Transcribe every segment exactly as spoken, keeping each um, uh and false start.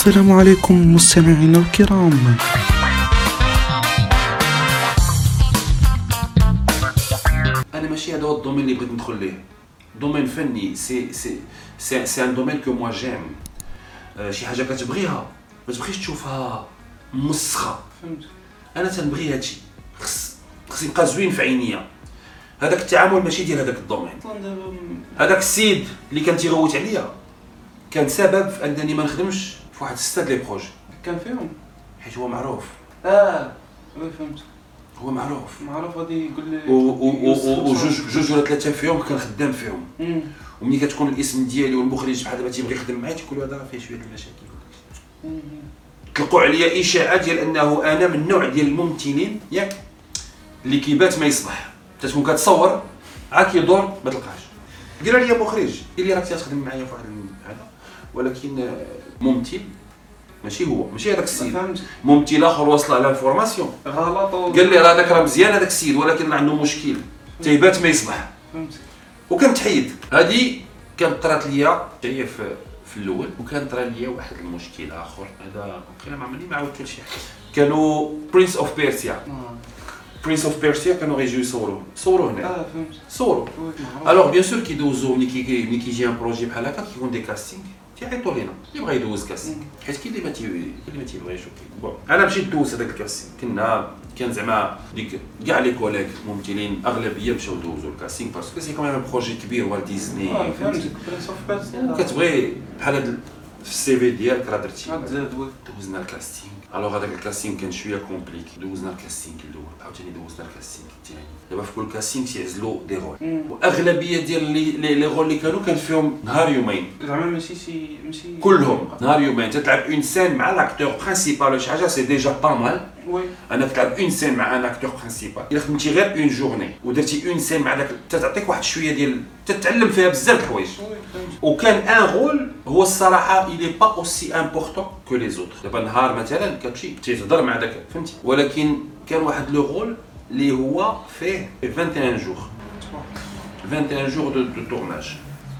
السلام عليكم مستمعينا الكرام. انا ماشي هذا هو الدومين اللي بغيت ندخل ليه، دومين فني. سي سي سي سي ان دومين كو موا جيم. شي حاجه كتبغيها ما تبغيش تشوفها مسخه، فهمت. انا تنبغي هادشي، خص خص يبقى زوين في عينيا. هذاك التعامل ماشي ديال هذاك الدومين. هذاك السيد اللي كان تيغوت عليا كان سبب في انني ما نخدمش في واحد ستة لي بروجي. كان فيهم حيت هو معروف. اه وي فهمت. هو معروف معروف غادي يقول لي وجوج جوج ولا ثلاثه فيهم كان خدام فيهم. امم وملي كتكون الاسم ديالي والمخرج بحال دابا تيبغي يخدم معايا تيقول هذا فيه شويه المشاكل. طلقوا عليا اشاعات ديال انه انا من النوع ديال الممثلين ياك اللي كيبات ما يصبح، تتكون كتصور عا كيدور ما تلقاش. قال لي مخرج قال لي راك تخدم معايا في واحد هذا، ولكن ممثل ماشي هو، ماشي هذاك السيد، ممثل اخر وصل على الفورماسيون غلط. قال لي راه هذاك راه مزيان هذاك السيد، ولكن عنده مشكل تيبات ما يصبح. فهمت. وكنت حيد. هذه كانت طرات ليا هي في في الاول، وكان طرا ليا واحد المشكل اخر. هذا وقيلا ما عمرني ما عاودت شي حاجه. كانوا برنس اوف بيرسيا برنس اوف بيرسيا كانوا غيجيو يصوروا صوروا هنا. اه فهمت. صوروا الوغ بيان سور كيدوزو ملي كي ملي كيجي ان بروجي بحال هكا كيكون دي كاستينغ تيعيطوا لينا اللي بغا يدوز كاستينغ، حيت كاين اللي ما تي كاين اللي ما تيبغيش. بون انا مشيت دوز هذاك الكاستينغ. كنا كان زعما ديك كاع لي كوليك ممثلين اغلبيه مشاو دوزو الكاستينغ باسكو سي كوميم بروجي كبير والت ديزني. اه فهمت. برنس اوف بيرسيا كتبغي بحال هاد في السي في ديالك راه درتي. غتزاد وي. دوزنا الكاستينغ. الوغ هذاك الكاستينغ كان شويه كومبليكي. دوزنا الكاستينغ الاول عاوتاني دوزنا الكاستينغ الثاني. دابا في كل كاستينغ تيعزلوا دي رول، واغلبيه ديال لي لي رول اللي كانوا كان فيهم نهار يومين زعما ماشي شي ماشي كلهم نهار يومين. تتلعب اون سين مع لاكتور برينسيبال ولا شي حاجه سي ديجا با مال. وي انا تلعب اون سين مع ان اكتور برينسيبال. الا خدمتي غير اون جورني ودرتي اون سين مع داك تعطيك واحد شويه ديال تتعلم فيها بزاف الحوايج. وكان ان رول هو الصراحه إلي با اوسي امبورطون كو لي زوطر. دابا نهار مثلا كتمشي تهضر مع داك فهمتي، ولكن كان واحد لو رول اللي هو فيه واحد وعشرين جور واحد وعشرين جور دو دو تورناج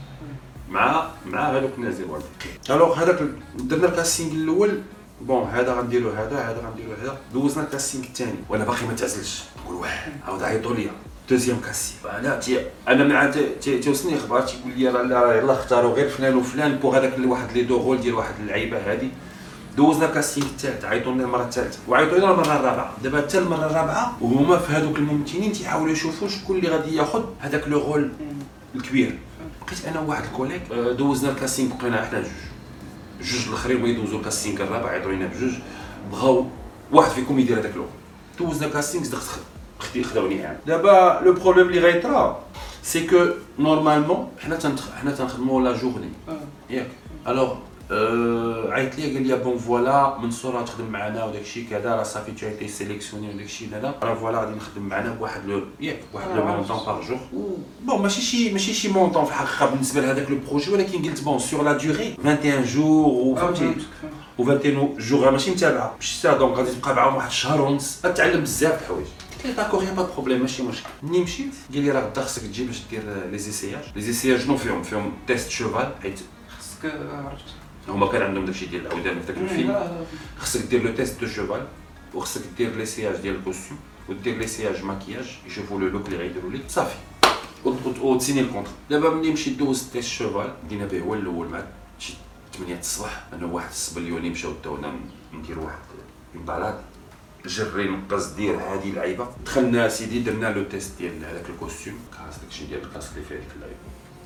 مع مع هذوك الناس ديال والد. الوغ هذاك درنا الكاستينغ الاول. بون هذا غنديرو هذا هذا غنديرو هذا. دوزنا الكاستينغ الثاني وانا باقي ما تعزلش. نقول واه عاود عيطوا ليا دوزيام كاستينغ. انا تي انا مع تيوصلني اخبار تيقول لي راه يلاه اختاروا غير فلان وفلان بوغ هذاك واحد لي دو رول ديال واحد اللعيبه هذه. دوزنا الكاستينغ الثالث عيطوا لنا المره الثالثه وعيطوا لنا المره الرابعه. دابا حتى المره الرابعه وهما في هذوك الممثلين تيحاولوا يشوفوا شكون اللي غادي ياخذ هذاك لو رول الكبير. بقيت انا وواحد الكوليك دوزنا الكاستينغ بقينا حنا جوج جوج الاخرين بغاو يدوزوا الكاستينغ الرابع عيطوا لنا بجوج بغاو واحد فيكم يدير هذاك لو. دوزنا الكاستينغ صدقت خدي خداوني عام. دابا لو بروبليم اللي غيطرا سي كو نورمالمون حنا تنخ... حنا تنخدموا لا جورني ياك. الوغ أه... عيط لي قال لي بون فوالا منصور راه تخدم معنا وداك الشيء كذا راه صافي تو ايتي سيليكسيوني وداك الشيء هذا راه فوالا غادي نخدم معنا بواحد لو ياك واحد لو مونطون باغ جور. بون ماشي شي ماشي شي مونطون في الحقيقه بالنسبه لهذاك لو بروجي، ولكن قلت بون سور لا دوري واحد وعشرين جور و فهمتي و واحد وعشرين جور ماشي متابعه ماشي دونك غادي تبقى معاهم واحد الشهر ونص غتعلم بزاف د الحوايج. قلت له داكور يا با دو بروبليم ماشي مشكل. ملي مشيت قال لي راه غدا خصك تجي باش دير لي زيسياج. لي زيسياج شنو فيهم؟ فيهم تيست شوفال حيت خصك عرفت هما كان عندهم داكشي ديال العودان في داك الفيلم. خصك دير لو تيست دو شوفال وخصك دير ليسياج ديال الكوستيم ودير ليسياج ماكياج يشوفوا لو لوك اللي غيديروا لك صافي وتسيني الكونتر. دابا ملي مشيت دوزت تيست شوفال بدينا به هو الاول مع شي ثمانية الصباح. انا واحد السبليوني مشاو داونا ندير واحد البالاد جري نقص دير هذه اللعيبه. دخلنا سيدي درنا لو تيست ديال هذاك الكوستيم كاس داكشي ديال الكاس اللي فيه ديك اللعيبه.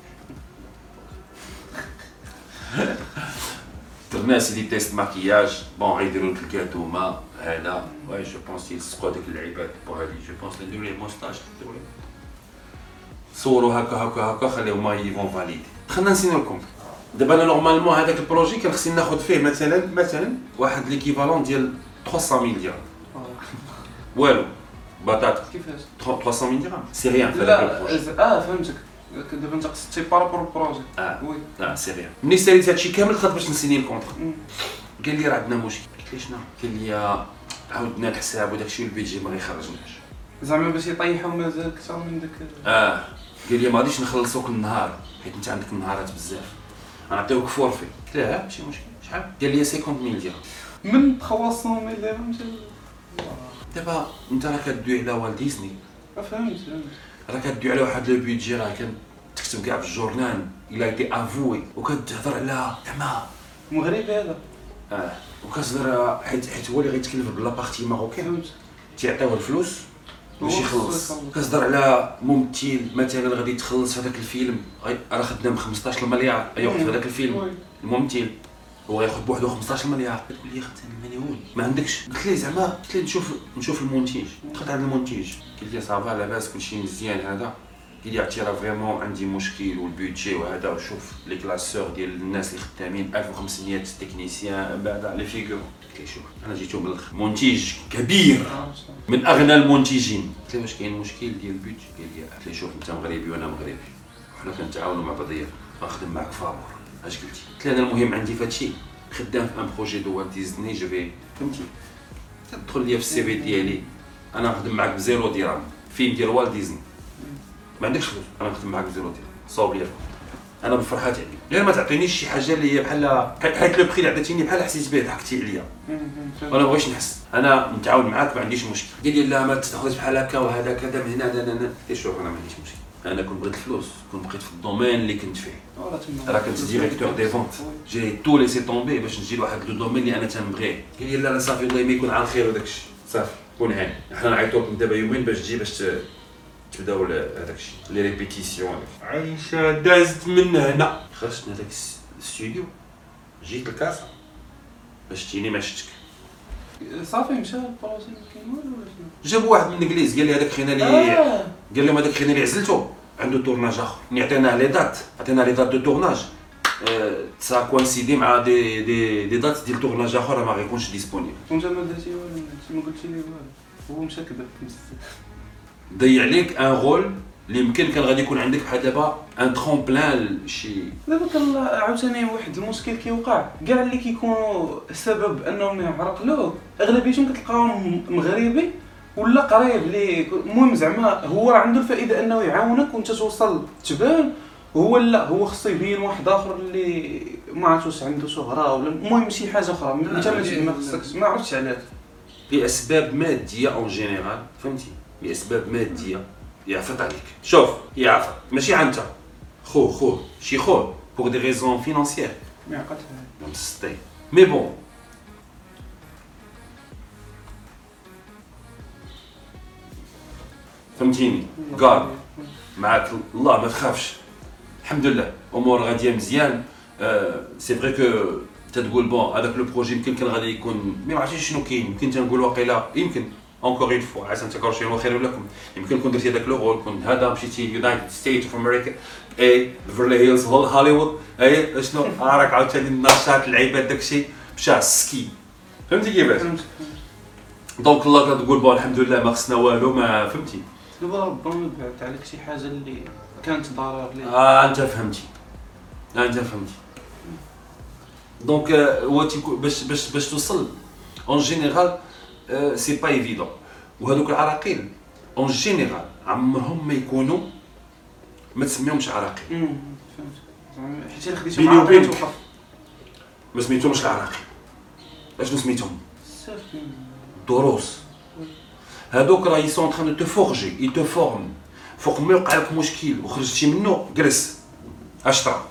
درنا سيدي تيست ماكياج. بون غيديروا لك الكاتوما هذا واي جو بونس يلصقوا هذيك اللعيبات بو هذه جو بونس نديروا ليه موستاج نديروا ليه صوروا هكا هكا هكا خليهم ما يفون فاليدي. دخلنا نسينو لكم. دابا انا نورمالمون هذاك البروجي كان خصني ناخذ فيه مثلا مثلا واحد ليكيفالون ديال ثلاثمية ميل درهم. والو بطاطا كيفاش ثلاثمية ميل درهم سي ريان في هذاك البروجي. اه فهمتك. دابا انت قصدتي بارابور البروجي. اه وي لا سي ريان. ملي ساليت هادشي كامل دخلت باش نسيني الكونتر. قال لي راه عندنا مشكل. قلت له شنو؟ قال لي عاودنا الحساب وداكشي والبيجي ما غيخرجناش. زعما باش يطيحوا مازال اكثر من داك. اه قال لي ما غاديش نخلصوك النهار حيت انت عندك النهارات بزاف غنعطيوك فورفي. قلت له ماشي مشكل شحال قال لي خمسين ألف درهم. من ثلاثمية ألف درهم حتى دابا انت راه كدوي على والت ديزني، فهمت فهمت راه كدوي على واحد لو بيدجي راه كان تكتب كاع في الجورنال الى ايتي افوي، وكتهضر على زعما مغربي هذا. اه وكتهضر حيت حيت هو اللي غيتكلف بلا بارتي ماروكان فهمت. تيعطيوه الفلوس باش هو يخلص. خصو يخلص. كتهضر على ممثل مثلا غادي تخلص في هذاك الفيلم غي- راه خدام خمسطاش مليار ياخذ في هذاك الفيلم وي. الممثل هو ياخذ بوحدو خمسطاش مليار. كتقول لي خدام المليون ما عندكش. قلت ليه زعما قلت ليه نشوف نشوف المنتج. دخلت عند المنتج قال لي صافا لاباس كلشي مزيان هذا. قال لي عرفتي راه فريمون عندي مشكل والبيدجي وهذا وشوف لي كلاسور ديال الناس اللي خدامين ألف وخمسمية تكنيسيان بعد لي فيغور. قلت ليه شوف انا جيتو من الاخر منتج كبير آه، صح. من اغنى المنتجين. قلت له واش كاين مشكل ديال البيدجي؟ قال لي قلت له شوف انت مغربي وانا مغربي وحنا كنتعاونوا مع بعضياتنا غنخدم معاك فابور. اش قلتي؟ قلت له انا المهم عندي في هادشي خدام في ان بروجي دو والت ديزني جو في فهمتي تدخل ليا في السي في ديالي انا نخدم معاك بزيرو درهم فيلم ديال والت ديزني ما عندكش فلوس انا نخدم معاك بزيرو درهم صاوب ليا انا بالفرحه تاعي غير ما تعطينيش شي حاجه اللي هي بحال حيت لو بري اللي عطيتيني بحال حسيت به ضحكتي عليا وانا بغيتش نحس انا متعاون معاك ما عنديش مشكل. قال لي لا ما تاخذش بحال هكا وهذا كذا من هنا لا لا لا. قلت شوف انا ما عنديش مشكل انا كنت بغيت الفلوس كنت بقيت في الدومين اللي كنت فيه راه كنت ديريكتور دي فونت جي تو ليسي طومبي باش نجي لواحد لو دومين اللي انا تنبغيه. قال لي لا لا صافي الله ما يكون على الخير وداكشي صافي كون هاني حنا نعيطوك من دابا يومين باش تجي باش تبداو هذاك الشيء لي ريبيتيسيون. عايشه دازت من هنا خرجت من هذاك الاستوديو جيت لكاسا باش تجيني ما شفتك. صافي مشى البروجي ما كاين والو ولا شنو؟ جابوا واحد من الانجليز قال لي هذاك خينا اللي آه. قال لهم هذاك خينا اللي عزلته عنده تورناج اخر عطيناه لي دات عطينا لي دات دو تورناج سا كوانسيدي مع دي دي دي دات ديال تورناج اخر ما غيكونش ديسپونيبل. وانت ما درتي والو انت ما قلتي لي والو هو مشى كذب ضيع عليك ان رول اللي يمكن كان غادي يكون عندك بحال دابا ان ترومبلان شي. دابا كان عاوتاني واحد المشكل كيوقع كاع اللي كيكونوا سبب انهم يعرقلوه اغلبيتهم كتلقاهم مغربي ولا قريب ليه. المهم زعما هو راه عنده الفائده انه يعاونك وانت توصل تبان هو لا هو خصو يبين واحد اخر اللي ما عرفتش واش عنده شهره ولا المهم شي حاجه اخرى انت ما خصكش ما عرفتش علاش باسباب ماديه اون جينيرال فهمتي باسباب ماديه يعفط عليك. شوف يعفط ماشي انت خو خو شي خو بوغ دي ريزون فينانسيير ما عقلتش مسطي مي بون فهمتيني قال معاك الله ما تخافش الحمد لله امور غاديه مزيان. أه سي فري كو تتقول بون هذاك لو بروجي يمكن كان غادي يكون ما عرفتش شنو كاين يمكن تنقول واقيلا يمكن اونكور اون فوا عسى تكرهوا شي خير لكم يمكن كون درتي هذاك لو رول كنت هذا مشيتي يونايتد ستيت اوف امريكا اي بيفرلي هيلز هوليوود اي شنو راك عاوتاني النشاط العباد داكشي مشى السكي فهمتي كيفاش. دونك الله كتقول بون الحمد لله ما خصنا والو ما فهمتي. دابا ربما بعث عليك شي حاجه اللي كانت ضرر ليك. اه انت فهمتي آه انت فهمتي. دونك هو باش باش باش توصل اون جينيرال سي با ايفيدون. وهذوك العراقيل اون جينيرال عمرهم ما يكونوا ما تسميهمش عراقيل. امم فهمت زعما حيت الا خديتو بيني معاك وبينك. توقف ما سميتهمش العراقيل اشنو سميتهم بزاف دروس. هذوك راه يسون تران دو تو فورجي اي تو فورم فوق ما يوقع لك مشكل وخرجتي منه جلس اشطر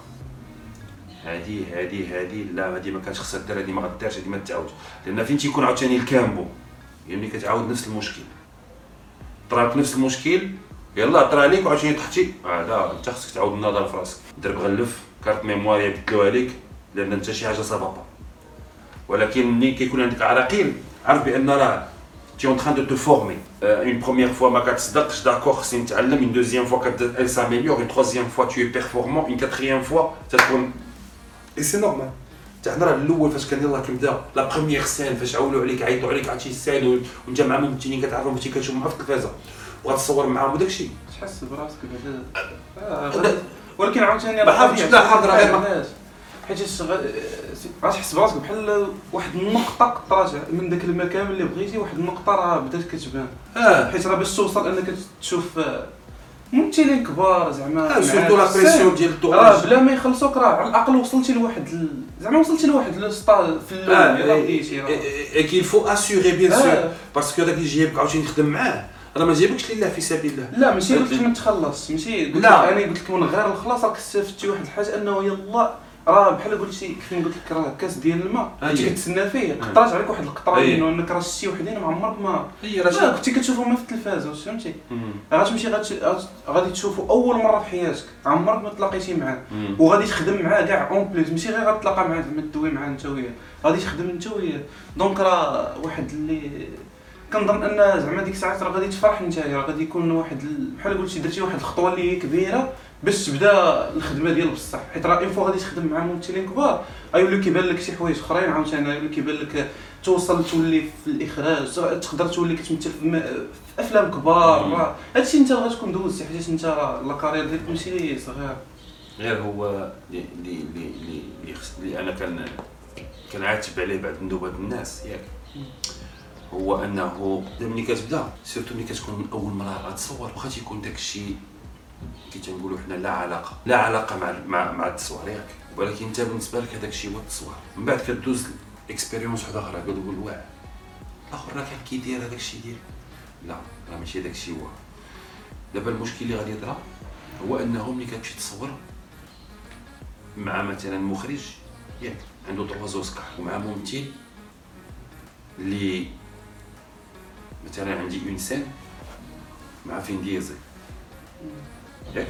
هذه هذه هذه لا هذه ما كانش خصها دير هذه ما غديرش هذه ما تعاود لان فين تيكون عاوتاني الكامبو يعني كتعاود نفس المشكل طراك نفس المشكل يلا طرا عليك وعاوتاني طحتي هذا انت خصك تعاود النظر في راسك دير بغلف كارت ميموار يبدلوها لك لان انت شي حاجه صافا. ولكن ملي كيكون عندك عراقيل عرف بان راه tu es en train de te former. Euh, une première fois, ma كتصدقش d'accord, c'est نتعلم. Une deuxième fois, elle s'améliore. Une troisième fois, tu es performant. Une quatrième fois, ça تكون. Et c'est normal. تاعنا راه الاول فاش كان يلاه كنبدا لا بروميير سين فاش عاولوا عليك عيطوا عليك عرفتي السين وانت مع ممثلين كتعرفهم فاش كتشوف معاهم في التلفازه وغتصور معاهم وداك الشيء. تحس براسك بعدا ولكن عاوتاني ما حاولتش لا حاضر غير ما حيت غتحس براسك بحال واحد النقطه قطرات من داك المكان اللي بغيتي واحد النقطه راه بدات كتبان. اه حيت راه باش توصل انك تشوف ممثلين كبار زعما سورتو لا بريسيون ديال راه الدوبلاج بلا ما يخلصوك راه على الاقل وصلتي لواحد ال... زعما وصلتي لواحد السطا في اللون اللي غاديتي راه اي كيل فو اسيوري بيان سور آه. باسكو داك اللي جايبك عاوتاني تخدم معاه راه ما جايبكش لله في سبيل الله. لا ماشي قلت لك ما تخلص ماشي قلت لك لا. انا قلت لك من غير الخلاص راك استفدتي واحد الحاجه انه يلا راه بحال قلتي كيف قلت لك راه كاس ديال الماء أيه. كنتي كتسنى فيه قطرات عليك واحد القطره أيه. منه انك راه شتي وحدين ما عمرك ما هي راه راه كنتي كتشوفهم في التلفاز واش فهمتي مم. غاتمشي غات- غادي تشوفو اول مره في حياتك عمرك ما تلاقيتي معاه مم. وغادي تخدم معاه كاع اون بليس ماشي غير غتلاقى معاه زعما تدوي معاه انت وياه غادي تخدم انت وياه دونك راه واحد اللي كنظن ان زعما ديك الساعات راه غادي تفرح نتايا راه غادي يكون واحد ال- بحال قلتي درتي واحد الخطوه اللي هي كبيره باش تبدا الخدمه ديال بصح حيت راه اون فوا غادي تخدم مع ممثلين كبار غيولي كيبان لك شي حوايج اخرين عاوتاني غيولي كيبان لك توصل تولي في الاخراج تقدر تولي كتمثل في, م... في افلام كبار راه هادشي انت غتكون دوزتي حيت انت راه لا كارير ديالك ماشي صغير غير هو اللي اللي اللي اللي خص- اللي انا كان كنعاتب عليه بعض ندوبات الناس ياك هو انه ملي كتبدا سيرتو ملي كتكون اول مره غتصور واخا تيكون داك الشيء كي تنقولوا حنا لا علاقه لا علاقه مع مع مع التصوير ياك ولكن انت بالنسبه لك هذاك الشيء هو التصوير من بعد كدوز اكسبيريونس واحده اخرى كتقول واعر الاخر راه كان كيدير هذاك الشيء ديال لا راه ماشي هذاك الشيء هو دابا المشكل اللي غادي يطرا هو انه ملي كتمشي تصور مع مثلا مخرج ياك عنده ثلاثة اوسكار ومع ممثل اللي مثلا عندي اون سين مع فين ديزل ياك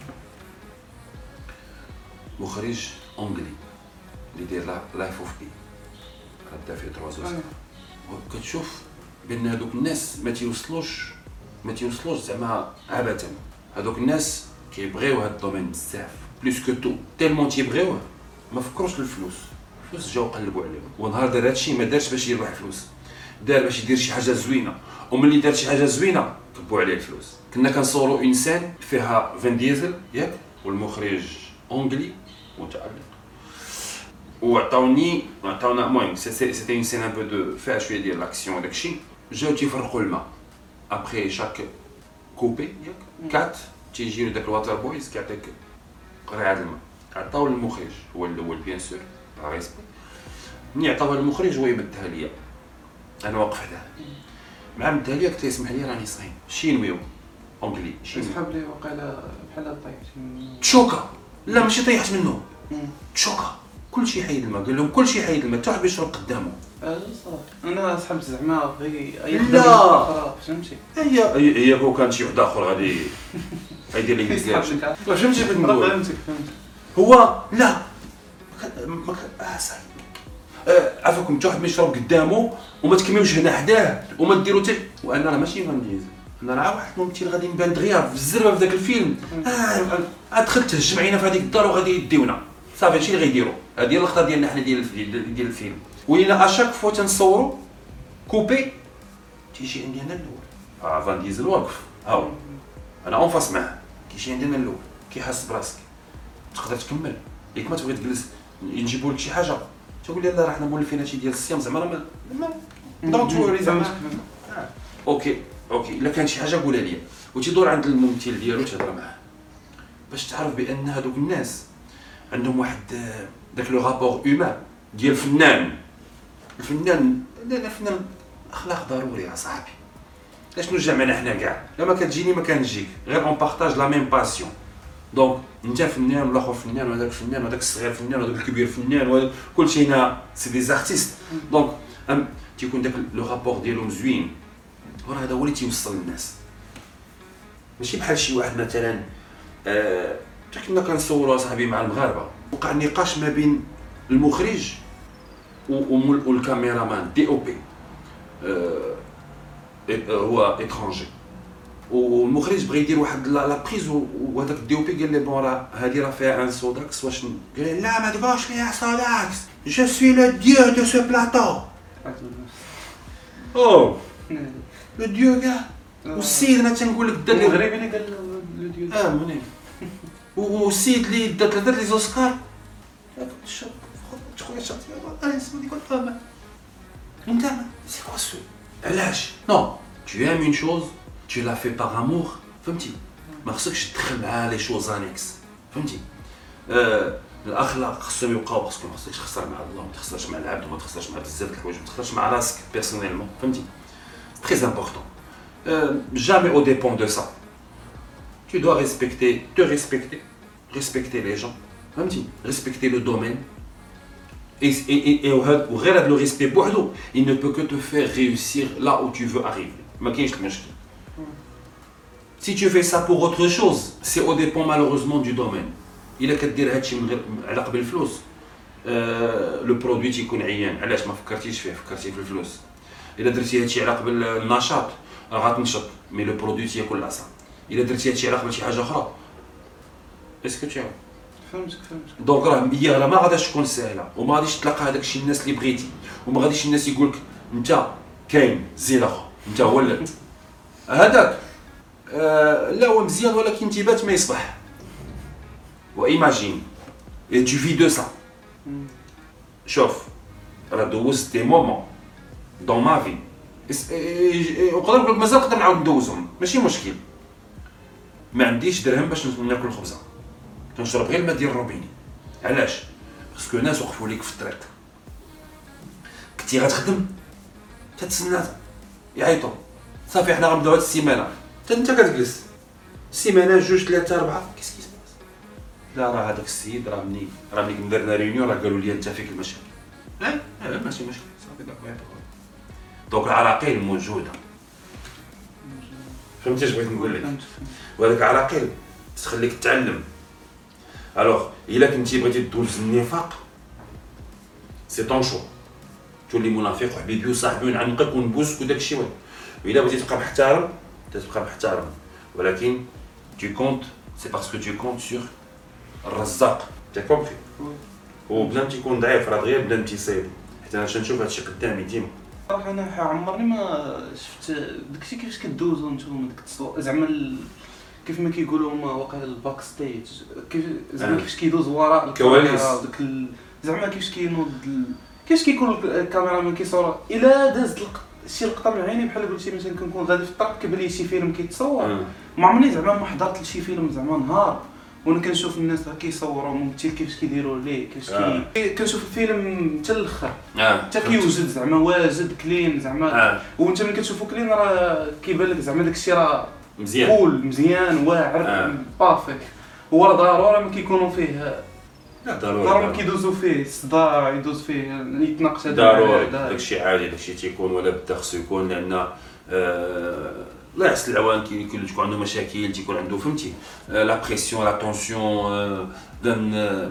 مخرج انجلي اللي داير لايف اوف بي غدا فيه ثلاثة اوسكار وكتشوف بان هذوك الناس ما تيوصلوش ما تيوصلوش زعما عبثا هذوك الناس كيبغيو هذا الدومين بزاف بلوس كو تو تيلمون تيبغيوه ما فكروش الفلوس الفلوس جاو قلبوا عليهم ونهار دار هادشي ما دارش باش يربح فلوس دار باش يدير شي حاجه زوينه وملي دار شي حاجه زوينه كبوا عليه الفلوس كنا كنصوروا اون سين فيها فين ديزل ياك والمخرج اونجلي متالق وعطاوني عطاونا المهم سيتي اون سين ان بو دو فيها شويه ديال لاكسيون داكشي جاو تيفرقوا الماء ابخي شاك كوبي ياك كات تيجيو داك الواتر بويز كيعطيك قرعه الماء عطاو للمخرج هو الاول بيان سور باغ ريسبي ملي عطاوها للمخرج هو يمدها ليا انا واقف حداه مع مدها ليا قلت له اسمح لي راني صايم شينويو اونجلي شينوي صحاب لي وقيلا بحال طيحت تشوكا لا ماشي طيحت منه تشوكا كلشي حيد الماء قال لهم كلشي حيد الماء حتى واحد بيشرب قدامه اه صافي انا صحبت زعما بغي لا. فهمتي هي هي هي كون كان شي واحد اخر غادي غيدير لي مزيان فهمتي بغيت نقول فهمتك فهمت هو لا ما كان ما كان اه صاحبي آه عفاكم حتى واحد ما يشرب قدامه وما تكملوش هنا حداه وما ديروا حتى وانا راه ماشي غنديز انا راه واحد الممثل غادي نبان دغيا في الزربه في ذاك الفيلم اه دخلت تهجم علينا في هذيك الدار وغادي يديونا صافي هادشي اللي غيديروا هذه هي اللقطه ديالنا حنا ديال الفيلم ديال الفيلم ولينا اشاك فوا تنصوروا كوبي تيجي عندي انا الاول اه فان ديزل واقف هاو انا اون فاس معاه كيجي عندي انا الاول كيحس براسك تقدر تكمل ياك ما تبغي تجلس نجيبوا لك شي حاجه تقول لي لا راه حنا مولفين هادشي ديال الصيام زعما راه ما دونت وري زعما اوكي اوكي الا كان شي حاجه قولها لي وتيدور عند الممثل ديالو تهضر معاه باش تعرف بان هذوك الناس عندهم واحد داك لو رابور هيومان ديال الفنان الفنان لا الفنان اخلاق ضروري يا صاحبي لاش نرجع معنا حنا كاع لا ما كتجيني ما كنجيك غير اون بارطاج لا ميم باسيون دونك انت فنان والاخر فنان وهذاك فنان وهذاك الصغير فنان وهذاك الكبير فنان وهذا كلشي هنا سي دي زارتيست دونك ام تيكون داك لو رابور ديالهم زوين وراه هذا هو اللي تيوصل للناس ماشي بحال شي واحد مثلا آه كنا كنصوروا صاحبي مع المغاربه وقع نقاش ما بين المخرج والكاميرامان دي او بي آه هو اترونجي والمخرج بغى يدير واحد لا بريز وهذاك الدي او بي قال لي بون راه هذه راه فيها ان سوداكس واش قال لي لا ما تبغاش فيها سوداكس جو سوي لو ديو دو سو بلاطو او لو ديو كاع والسيد انا تنقول لك دار لي المغربي اللي قال لو ديو اه منين والسيد اللي دات دات لي زوسكار شوف خويا شاطي انا اسمي ديك الطابع انت سي كوا سو علاش نو tu aimes une chose tu la fais par amour فهمتي ما خصكش تدخل معاه لي شوز انيكس فهمتي. آه الاخلاق خصهم يبقاو باسكو ما خصكش تخسر مع الله وما تخسرش مع العبد وما تخسرش مع بزاف د الحوايج وما تخسرش مع راسك بيرسونيلمون فهمتي. تري امبورطون جامي او ديبون دو سا. Tu dois respecter, te respecter, respecter les gens, فهمتي. respecter le domaine. Et, et, et, et وغير هذا لو ريسبي بوحدو il ne peut que te faire réussir là où tu veux arriver. ما كاينش المشكل. Si tu fais ça pour autre chose, c'est au dépend malheureusement du domaine. إلا كدير هادشي من غير علاقة بالفلوس لو برودوي تيكون عيان. علاش ما فكرتيش فيه؟ فكرتي في الفلوس. إلا درتي هادشي علاقة بالنشاط راه غتنشط مي لو برودوي تياكل العصا. إلا درتي هادشي علاقة بشي حاجة أخرى اسكو تي فهمتك فهمتك. دونك راه هي راه ما غاداش تكون ساهله وما غاديش تلقى هذاك الشيء الناس اللي بغيتي وما غاديش الناس يقولك انت كاين زين اخو انت ولات هذاك آه لا هو مزيان ولكن تيبات ما يصبح. وايماجين اي تو في دو سا. شوف راه دوزت دي مومون دون ما في وقدر نقول لك مازال نقدر نعاود ندوزهم ماشي مشكل. ما عنديش درهم باش ناكل خبزه كنشرب غير الماء ديال الروبيني. علاش؟ باسكو ناس وقفوا ليك في الطريق كنتي غتخدم تتسنى يعيطوا صافي حنا غنبداو هاد السيمانه حتى انت كتجلس سيمانه جوج ثلاثه اربعه كيس كيس لا راه هذاك السيد راه مني راه ملي درنا ريونيون راه قالوا لي انت فيك المشاكل. اه اه ماشي مشكل صافي داك يعطوك. دونك العراقيل موجوده فهمتي اش بغيت نقول لك. وهذاك العراقيل تخليك تتعلم. الوغ الا كنتي بغيتي تدوز النفاق سي طون شو تولي منافق وحبيبي وصاحبي ونعنقك ونبوسك وداك الشيء. والا بغيتي تبقى محترم تبقى محترم ولكن tu comptes c'est parce que tu comptes sur الرزاق. تي كومبري. وبنادم تيكون ضعيف راه دغيا بنادم تيصيب حتى انا تنشوف هادشي قدامي ديما. صراحه انا عمرني ما شفت داكشي كيفاش كدوزو نتوما ديك التصوير زعما ال... كيف ما كيقولوا هما واقع الباك ستيج كيف زعما آه. كيفاش كيدوز وراء الكواليس داك ال... زعما كيفاش كينوض ال... كيفاش كيكون الكاميرا من كيصور الا دازت لق... شي لقطه من عيني بحال قلتي مثلا كنكون غادي في الطريق كيبان لي شي فيلم كيتصور آه. ما عمرني زعما ما حضرت لشي فيلم زعما نهار وانا كنشوف الناس كيصوروا ممثل كيفاش كيديروا ليه كيفاش آه. كي كنشوف الفيلم حتى الاخر حتى آه. كيوجد زعما واجد كلين زعما آه. وانت ملي كتشوفو كلين راه كيبان لك زعما داكشي راه مزيان كول مزيان واعر آه. بارفيك. هو راه ضروري ما كيكونوا فيه لا ضروري ضروري كيدوزوا فيه الصداع يدوز فيه يتناقش هذا ضروري داكشي عادي داكشي تيكون ولا بدا خصو يكون لان آه الله يحسن العوان كي تكون عنده مشاكل تيكون عنده فهمتي لا بريسيون لا طونسيون دن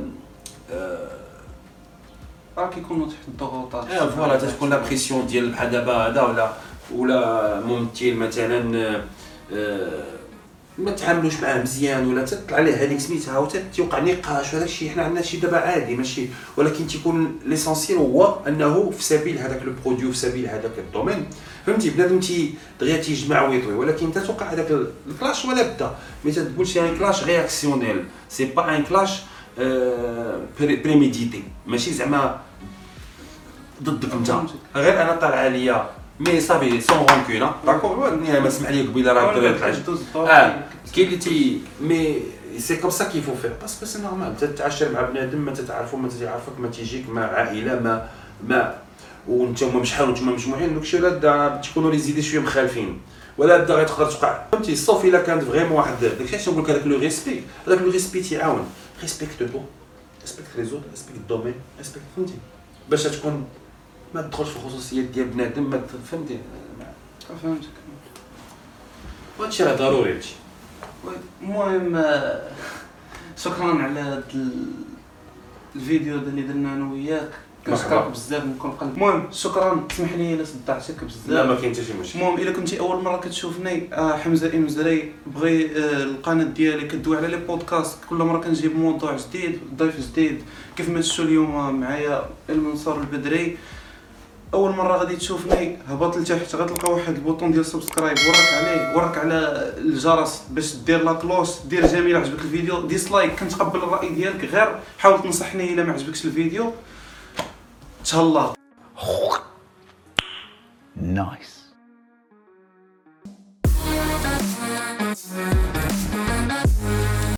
راه كيكونوا تحت الضغوطات اه فوالا تكون لا بريسيون ديال بحال دابا هذا ولا ولا ممثل مثلا ما تعاملوش معاه مزيان ولا تطلع عليه هذيك سميتها وتيوقع نقاش وهذا الشيء حنا عندنا شي دابا عادي ماشي ولكن تيكون ليسونسيال هو انه في سبيل هذاك لو برودوي في سبيل هذاك الدومين فهمتي. بنادم تي دغيا تيجمع ويطوي ولكن تتوقع هذاك الكلاش ولا بدا مي تقول شي ان كلاش رياكسيونيل سي با ان كلاش بريميديتي ماشي زعما ضدك انت غير انا طالعه ليا مي صافي سون رونكون داكور ما سمح لي قبيله راه طلعت اه كاين اللي تي مي سي كوم سا كي فو فير باسكو سي نورمال تتعاشر مع بنادم ما تتعرفو ما تيعرفك ما تيجيك مع عائله ما ما وانتم شحال وانتم مجموعين داكشي ولا تكونوا لي زيدي شويه مخالفين ولا بدا غتقدر توقع فهمتي صوف الا كانت فريمون واحد داكشي علاش نقول لك هذاك لو ريسبي هذاك لو ريسبي تيعاون ريسبكت تو ريسبكت لي زوت ريسبكت الدومين ريسبكت فهمتي باش تكون ما تدخلش في الخصوصيات ديال بنادم ما فهمتي. فهمتك هادشي راه ضروري هادشي. المهم شكرا على هذا الفيديو اللي درنا انا وياك كنشكرك بزاف من كل قلب. المهم شكرا اسمح لي الا صدعتك بزاف. لا ما كاين حتى شي مشكل. المهم الا كنتي اول مره كتشوفني آه حمزه المزري بغي آه القناه ديالي كدوي على لي بودكاست كل مره كنجيب موضوع جديد ضيف جديد كيف ما شفتوا اليوم معايا المنصور البدري. اول مره غادي تشوفني هبط لتحت غتلقى واحد البوطون ديال سبسكرايب ورك عليه ورك على الجرس باش دير لا كلوش دير جميل عجبك الفيديو ديسلايك كنتقبل الراي ديالك غير حاول تنصحني الا ما عجبكش الفيديو تهلا. Nice.